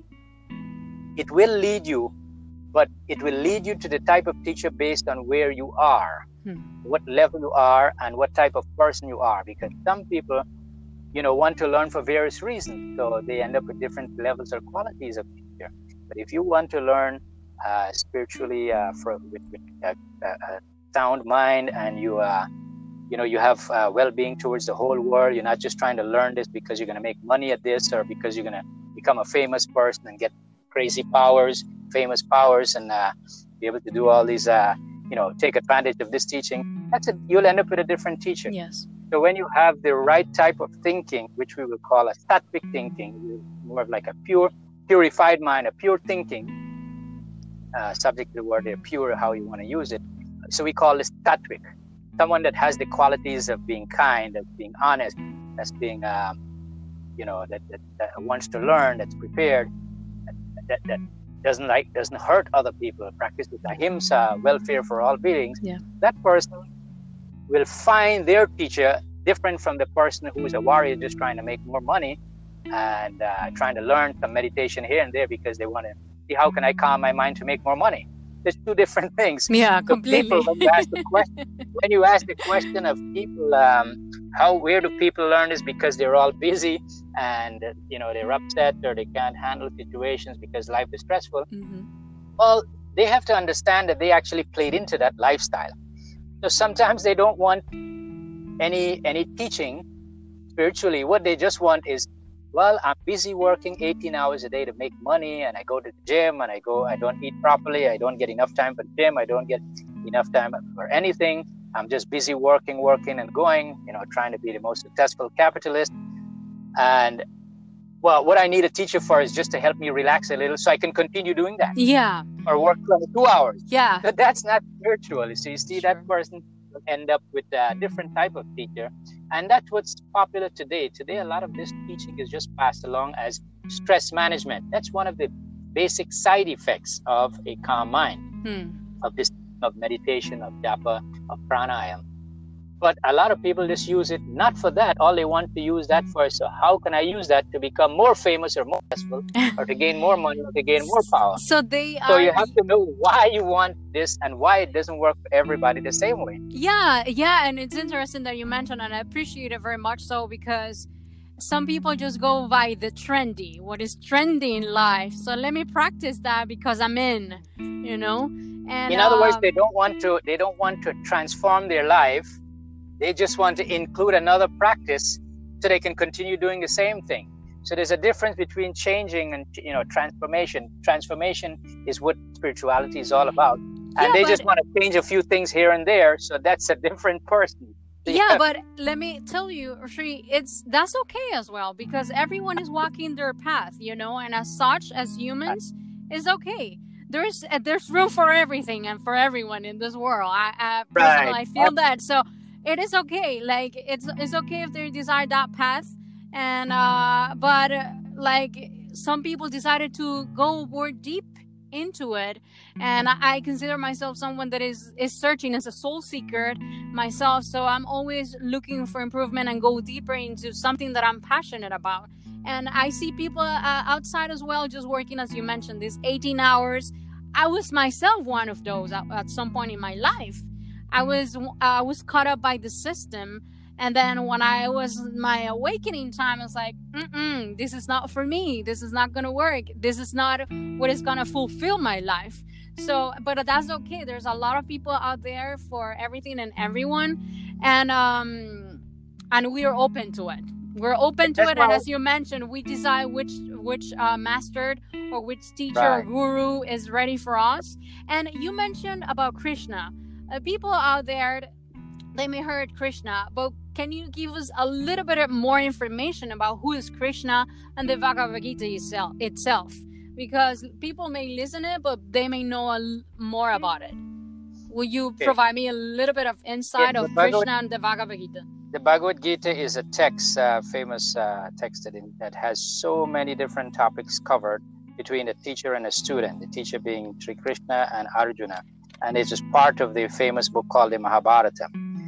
[SPEAKER 2] it will lead you, but it will lead you to the type of teacher based on where you are,
[SPEAKER 1] Hmm.
[SPEAKER 2] what level you are, and what type of person you are. Because some people, you know, want to learn for various reasons, so they end up with different levels or qualities of teacher. But if you want to learn uh, spiritually uh, for, with, with a, a sound mind, and you, uh, you know, you have uh, well-being towards the whole world, you're not just trying to learn this because you're going to make money at this, or because you're going to become a famous person and get crazy powers, famous powers, and uh, be able to do all these, uh, you know, take advantage of this teaching. That's it. You'll end up with a different teacher.
[SPEAKER 1] Yes.
[SPEAKER 2] So when you have the right type of thinking, which we will call a sattvic thinking, more of like a pure, purified mind, a pure thinking, uh, subject to the word there, pure, how you want to use it. So we call this sattvic. Someone that has the qualities of being kind, of being honest, that's being, um, you know, that, that, that wants to learn, that's prepared, that, that doesn't like, doesn't hurt other people, practices ahimsa, welfare for all beings.
[SPEAKER 1] Yeah.
[SPEAKER 2] That person will find their teacher different from the person who is a warrior just trying to make more money and uh, trying to learn some meditation here and there because they want to see how can I calm my mind to make more money. There's two different things.
[SPEAKER 1] Yeah,
[SPEAKER 2] So
[SPEAKER 1] completely.
[SPEAKER 2] people, when you ask the question, when you ask the question of people, um, how where do people learn this? Because they're all busy and uh, you know they're upset or they can't handle situations because life is stressful.
[SPEAKER 1] Mhm.
[SPEAKER 2] Well, they have to understand that they actually played into that lifestyle. So sometimes they don't want any any teaching spiritually. What they just want is, well, I'm busy working eighteen hours a day to make money, and I go to the gym, and I go, I don't eat properly, I don't get enough time for the gym, I don't get enough time for anything. I'm just busy working, working and going, you know, trying to be the most successful capitalist. And well, what I need a teacher for is just to help me relax a little so I can continue doing that.
[SPEAKER 1] Yeah.
[SPEAKER 2] Or work twenty-two hours.
[SPEAKER 1] Yeah.
[SPEAKER 2] But that's not spiritual. You see, you see
[SPEAKER 1] Sure.
[SPEAKER 2] that person will end up with a different type of teacher. And that's what's popular today. Today, a lot of this teaching is just passed along as stress management. That's one of the basic side effects of a calm mind,
[SPEAKER 1] Hmm.
[SPEAKER 2] of this, of meditation, of japa, of pranayama. But a lot of people just use it not for that. All they want to use that for is, so how can I use that to become more famous or more successful, or to gain more money, or to gain more power?
[SPEAKER 1] So they
[SPEAKER 2] So
[SPEAKER 1] are.
[SPEAKER 2] you have to know why you want this and why it doesn't work for everybody the same way.
[SPEAKER 1] Yeah, yeah, and it's interesting that you mentioned, and I appreciate it very much so, because some people just go by the trendy, what is trendy in life. So let me practice that because I'm in, you know. And
[SPEAKER 2] In other words,
[SPEAKER 1] um,
[SPEAKER 2] they don't want to. They don't want to transform their life. They just want to include another practice so they can continue doing the same thing. So there's a difference between changing and, you know, transformation. Transformation is what spirituality is all about. And
[SPEAKER 1] Yeah,
[SPEAKER 2] they
[SPEAKER 1] but-
[SPEAKER 2] just want to change a few things here and there. So that's a different person.
[SPEAKER 1] yeah, but let me tell you, Shri, it's that's okay as well, because everyone is walking their path, you know, and as such, as humans, is okay. There's uh, there's room for everything and for everyone in this world. I, I personally
[SPEAKER 2] Right.
[SPEAKER 1] I feel that, so it is okay. Like it's it's okay if they decide that path, and uh, but uh, like some people decided to go more deep into it, and I, I consider myself someone that is is searching as a soul seeker myself, so I'm always looking for improvement and go deeper into something that I'm passionate about. And I see people uh, outside as well, just working, as you mentioned, these eighteen hours. I was myself one of those at, at some point in my life. I was I was caught up by the system, and then when I was my awakening time, I was like, Mm-mm, this is not for me. This is not gonna work. This is not what is gonna fulfill my life. So, but that's okay. There's a lot of people out there for everything and everyone, and um, and we are open to it. We're open to
[SPEAKER 2] That's
[SPEAKER 1] it, and
[SPEAKER 2] why-
[SPEAKER 1] as you mentioned, we decide which which uh, master or which teacher or
[SPEAKER 2] Right.
[SPEAKER 1] guru is ready for us. And you mentioned about Krishna. Uh, people out there, they may heard Krishna, but can you give us a little bit more information about who is Krishna and the Bhagavad Gita itself? itself? Because people may listen it, but they may know a l- more about it. Will you
[SPEAKER 2] Okay.
[SPEAKER 1] provide me a little bit of insight
[SPEAKER 2] Yeah, the
[SPEAKER 1] of
[SPEAKER 2] Bhagavad-
[SPEAKER 1] Krishna and the Bhagavad Gita?
[SPEAKER 2] The Bhagavad Gita is a text, uh, famous uh, text that, in, that has so many different topics covered between a teacher and a student, the teacher being Sri Krishna and Arjuna. And it's just part of the famous book called the Mahabharata.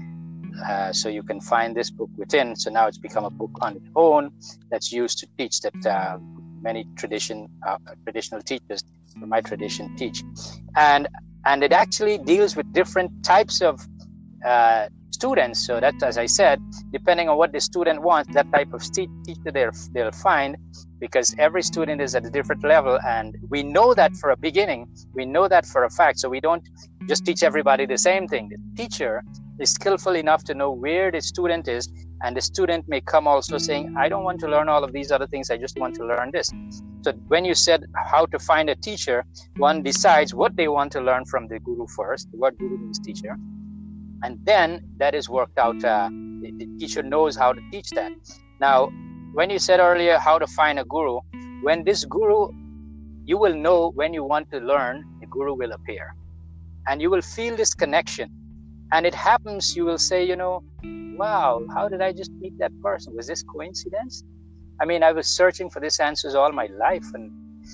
[SPEAKER 2] Uh, so you can find this book within. So now it's become a book on its own that's used to teach that uh, many tradition uh, traditional teachers from my tradition teach. And and it actually deals with different types of uh, students. So that, as I said, depending on what the student wants, that type of st- teacher they'll, they'll find, because every student is at a different level. And we know that for a beginning, we know that for a fact. So we don't just teach everybody the same thing. The teacher is skillful enough to know where the student is, and the student may come also saying, I don't want to learn all of these other things, I just want to learn this. So when you said how to find a teacher, one decides what they want to learn from the guru first. The word guru means teacher. And then that is worked out. Uh, the, the teacher knows how to teach that. Now, when you said earlier how to find a guru, when this guru, you will know when you want to learn, the guru will appear. And you will feel this connection. And it happens, you will say, you know, wow, how did I just meet that person? Was this coincidence? I mean, I was searching for these answers all my life, and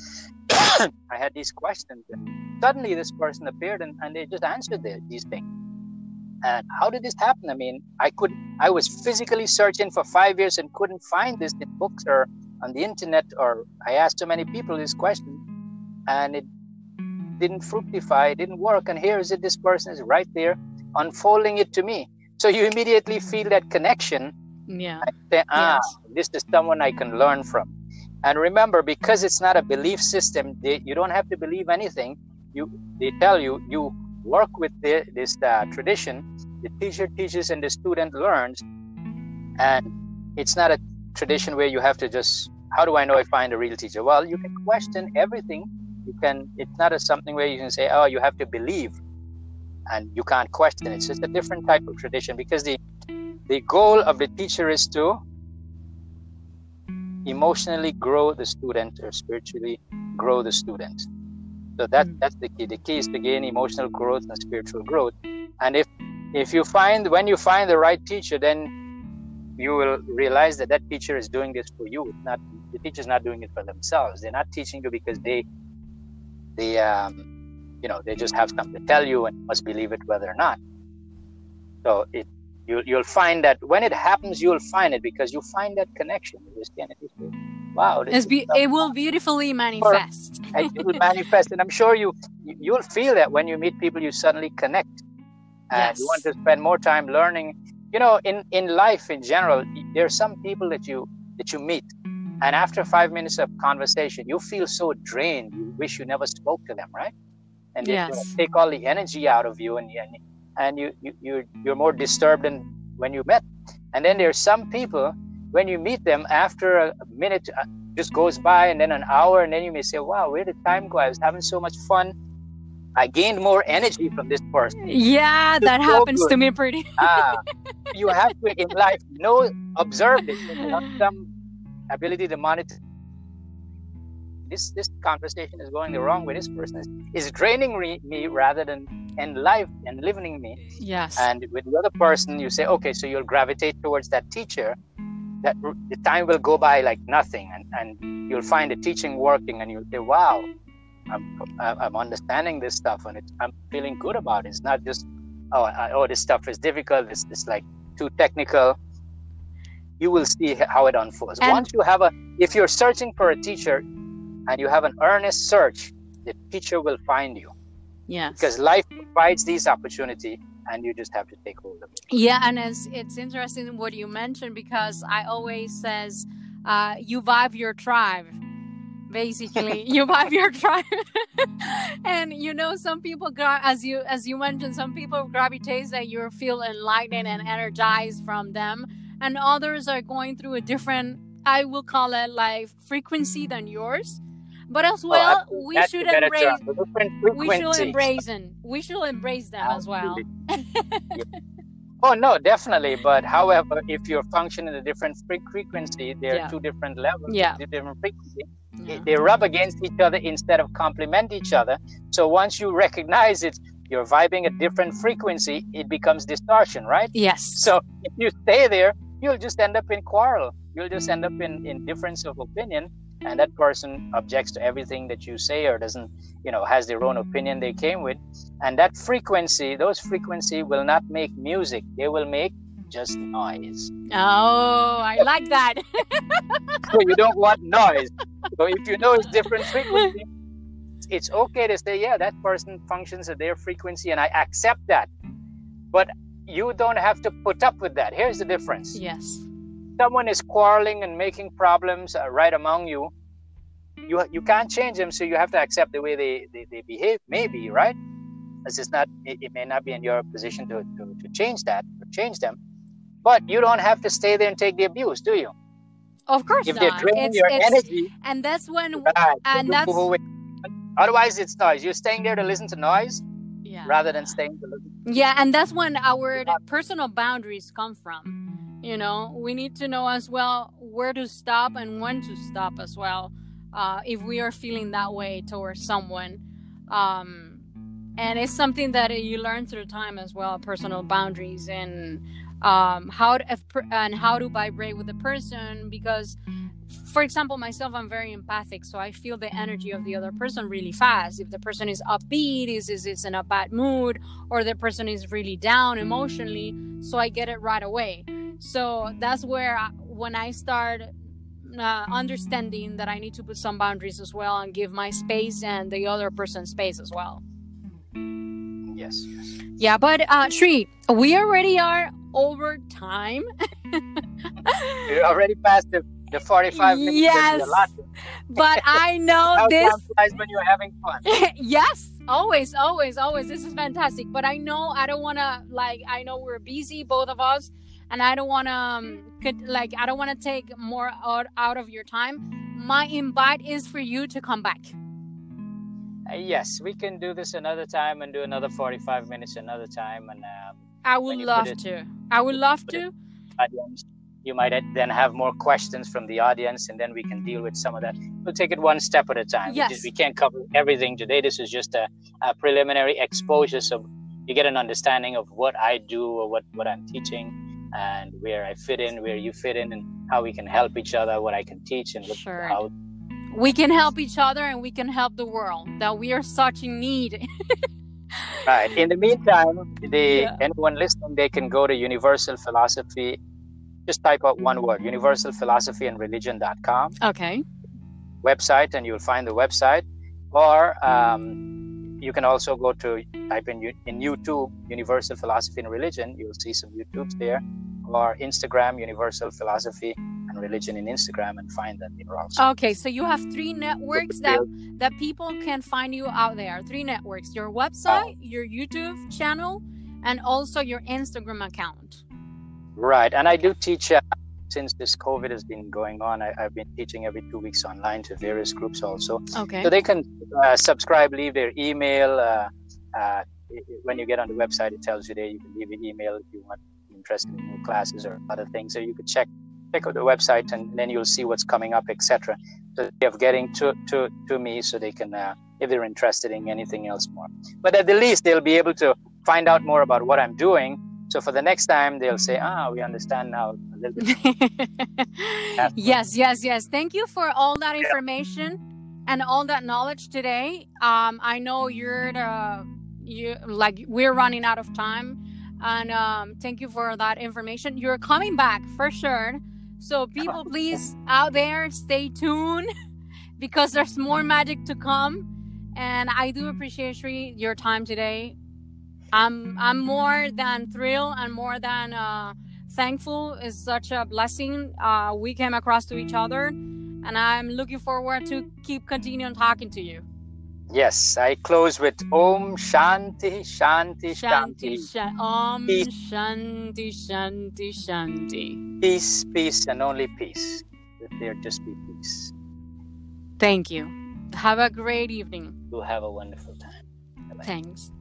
[SPEAKER 2] I had these questions, and suddenly this person appeared, and, and they just answered the, these things. And how did this happen? I mean, I could, I was physically searching for five years and couldn't find this in books or on the internet, or I asked so many people this question, and it didn't fructify, it didn't work. And here is it, this person is right there unfolding it to me. So you immediately feel that connection.
[SPEAKER 1] Yeah.
[SPEAKER 2] I say, ah,
[SPEAKER 1] Yes.
[SPEAKER 2] this is someone I can learn from. And remember, because it's not a belief system, they, you don't have to believe anything. You, they tell you, you work with the, this uh, tradition. The teacher teaches and the student learns. And it's not a tradition where you have to just, how do I know I find a real teacher? Well, you can question everything. You can. It's not a something where you can say, oh, you have to believe. and you can't question it. So it's a different type of tradition, because the the goal of the teacher is to emotionally grow the student or spiritually grow the student. So that that's the key. The key is to gain emotional growth and spiritual growth. And if if you find when you find the right teacher, then you will realize that that teacher is doing this for you. It's not the teacher is not doing it for themselves. They're not teaching you because they they um, you know they just have something to tell you and you must believe it whether or not. So it you you'll find that when it happens, you'll find it because you find that connection. You just can't just say, wow, this
[SPEAKER 1] It's be-
[SPEAKER 2] is
[SPEAKER 1] it will beautifully manifest.
[SPEAKER 2] and it will manifest, and I'm sure you you'll feel that when you meet people, you suddenly connect, and
[SPEAKER 1] Yes.
[SPEAKER 2] you want to spend more time learning. You know, in in life in general, there are some people that you that you meet, and after five minutes of conversation, you feel so drained. You wish you never spoke to them, right? And they
[SPEAKER 1] Yes.
[SPEAKER 2] you know, take all the energy out of you, and and, and you you you're, you're more disturbed than when you met. And then there's some people, when you meet them, after a minute uh, just goes by, and then an hour, and then you may say, wow, where did time go? I was having so much fun. I gained more energy from this person.
[SPEAKER 1] Yeah,
[SPEAKER 2] It's
[SPEAKER 1] that
[SPEAKER 2] so
[SPEAKER 1] happens
[SPEAKER 2] good.
[SPEAKER 1] to me pretty.
[SPEAKER 2] Ah, you have to, in life, know, observe this. If you have some ability to monitor this, this conversation is going the wrong way. This person is, is draining re- me rather than enlive, enlivening me.
[SPEAKER 1] Yes.
[SPEAKER 2] And with the other person, you say, okay, so you'll gravitate towards that teacher. That r- the time will go by like nothing, and, and you'll find the teaching working, and you'll say, wow, I'm, I'm understanding this stuff, and it's, I'm feeling good about it. It's not just, oh, I, oh, this stuff is difficult. It's, it's like too technical. You will see how it unfolds.
[SPEAKER 1] And-
[SPEAKER 2] Once you have a, if you're searching for a teacher and you have an earnest search, the teacher will find you,
[SPEAKER 1] Yes.
[SPEAKER 2] because life provides these opportunities, and you just have to take hold of it.
[SPEAKER 1] Yeah, and it's, it's interesting what you mentioned, because I always says, uh, you vibe your tribe. Basically, you vibe your tribe, and you know, some people, gra- as you as you mentioned, some people gravitate that you feel enlightened and energized from them, and others are going through a different, I will call it like frequency than yours. But as well,
[SPEAKER 2] absolutely.
[SPEAKER 1] we
[SPEAKER 2] That's
[SPEAKER 1] should
[SPEAKER 2] the better
[SPEAKER 1] embrace.
[SPEAKER 2] term, the different
[SPEAKER 1] We should
[SPEAKER 2] frequencies.
[SPEAKER 1] embrace them. We should embrace them as well.
[SPEAKER 2] Yeah. Oh no, definitely. But however, if you're functioning at a different fre- frequency, there
[SPEAKER 1] Yeah.
[SPEAKER 2] are two different levels,
[SPEAKER 1] Yeah.
[SPEAKER 2] two different frequencies.
[SPEAKER 1] Yeah.
[SPEAKER 2] They rub against each other instead of complement each other. So once you recognize it, you're vibing a different frequency, it becomes distortion, right?
[SPEAKER 1] Yes.
[SPEAKER 2] So if you stay there, you'll just end up in quarrel. You'll just end up in, in difference of opinion, and that person objects to everything that you say, or doesn't, you know, has their own opinion they came with. And that frequency, those frequency will not make music. They will make just noise.
[SPEAKER 1] Oh, I like that.
[SPEAKER 2] So you don't want noise. So if you know it's different frequency, it's okay to say, yeah, that person functions at their frequency, and I accept that. But you don't have to put up with that. Here's the difference.
[SPEAKER 1] Yes.
[SPEAKER 2] Someone is quarreling and making problems uh, right among you. You you can't change them, so you have to accept the way they, they, they behave, maybe, right? It's just not, it, it may not be in your position to, to, to change that, or change them. But you don't have to stay there and take the abuse, do you?
[SPEAKER 1] Of course
[SPEAKER 2] If they're
[SPEAKER 1] not.
[SPEAKER 2] draining
[SPEAKER 1] It's,
[SPEAKER 2] your
[SPEAKER 1] it's,
[SPEAKER 2] energy,
[SPEAKER 1] and that's when,
[SPEAKER 2] right,
[SPEAKER 1] and
[SPEAKER 2] you
[SPEAKER 1] that's,
[SPEAKER 2] move away. Otherwise it's noise. You're staying there to listen to noise
[SPEAKER 1] yeah.
[SPEAKER 2] rather than staying to listen.
[SPEAKER 1] Yeah, and that's when our personal boundaries come from. You know, we need to know as well where to stop and when to stop as well, uh, if we are feeling that way towards someone. Um, and it's something that you learn through time as well, personal boundaries, and um, how to, and how to vibrate with the person. Because, for example, myself, I'm very empathic, so I feel the energy of the other person really fast. If the person is upbeat, is is is in a bad mood, or the person is really down emotionally, so I get it right away. So that's where I, when I start uh, understanding that I need to put some boundaries as well, and give my space and the other person space as well.
[SPEAKER 2] Yes, yes.
[SPEAKER 1] Yeah, but uh, Shri, we already are over time.
[SPEAKER 2] You're already past the, the forty-five minutes.
[SPEAKER 1] Yes, but I know
[SPEAKER 2] How
[SPEAKER 1] this.
[SPEAKER 2] time flies when you're having fun.
[SPEAKER 1] Yes, always, always, always. This is fantastic. But I know I don't want to, like, I know we're busy, both of us, and I don't want to, um, could, like, I don't want to take more out, out of your time. My invite is for you to come back.
[SPEAKER 2] Uh, yes, we can do this another time and do another forty-five minutes another time. And um,
[SPEAKER 1] I would love it, to. I would love to.
[SPEAKER 2] Audience, you might then have more questions from the audience, and then we can deal with some of that. We'll take it one step at a time.
[SPEAKER 1] Yes.
[SPEAKER 2] We, just, we can't cover everything today. This is just a, a preliminary exposure, so you get an understanding of what I do or what, what I'm teaching, and where I fit in, where you fit in, and how we can help each other, what I can teach, and what,
[SPEAKER 1] sure.
[SPEAKER 2] how
[SPEAKER 1] we can help each other, and we can help the world that we are such in need.
[SPEAKER 2] Right. In the meantime, they,
[SPEAKER 1] Yeah.
[SPEAKER 2] anyone listening, they can go to Universal Philosophy. Just type out one word, universal philosophy and religion dot com
[SPEAKER 1] Okay.
[SPEAKER 2] website, and you'll find the website. Or um, you can also go to type in in YouTube Universal Philosophy and Religion. You'll see some YouTubes there, or Instagram Universal Philosophy and Religion in Instagram, and find that there also.
[SPEAKER 1] Okay, so you have three networks that that people can find you out there. Three networks: your website,
[SPEAKER 2] Oh.
[SPEAKER 1] your YouTube channel, and also your Instagram account.
[SPEAKER 2] Right, and I do teach. Uh, since this COVID has been going on, I, I've been teaching every two weeks online to various groups also.
[SPEAKER 1] Okay.
[SPEAKER 2] So they can uh, subscribe, leave their email. Uh, uh, when you get on the website, it tells you there you can leave an email if you want interested in more classes or other things. So you could check check out the website, and then you'll see what's coming up, et cetera. So they have getting to to to me, so they can, uh, if they're interested in anything else more. But at the least, they'll be able to find out more about what I'm doing. So for the next time, they'll say, ah, we understand now a little bit.
[SPEAKER 1] Yes, yes, yes. Thank you for all that information and all that knowledge today. Um, I know you're the, you like we're running out of time, and um, thank you for that information. You're coming back for sure. So people, please out there, stay tuned because there's more magic to come. And I do appreciate, Sri, your time today. I'm I'm more than thrilled and more than uh, thankful. It's such a blessing. Uh, we came across to each other, and I'm looking forward to keep continuing talking to you.
[SPEAKER 2] Yes, I close with Om Shanti Shanti
[SPEAKER 1] Shanti,
[SPEAKER 2] Shanti.
[SPEAKER 1] shan- Om
[SPEAKER 2] Peace.
[SPEAKER 1] Shanti, Shanti, Shanti.
[SPEAKER 2] Peace, peace, and only peace. Let there just be peace.
[SPEAKER 1] Thank you. Have a great evening.
[SPEAKER 2] You'll have a wonderful time. Bye-bye.
[SPEAKER 1] Thanks.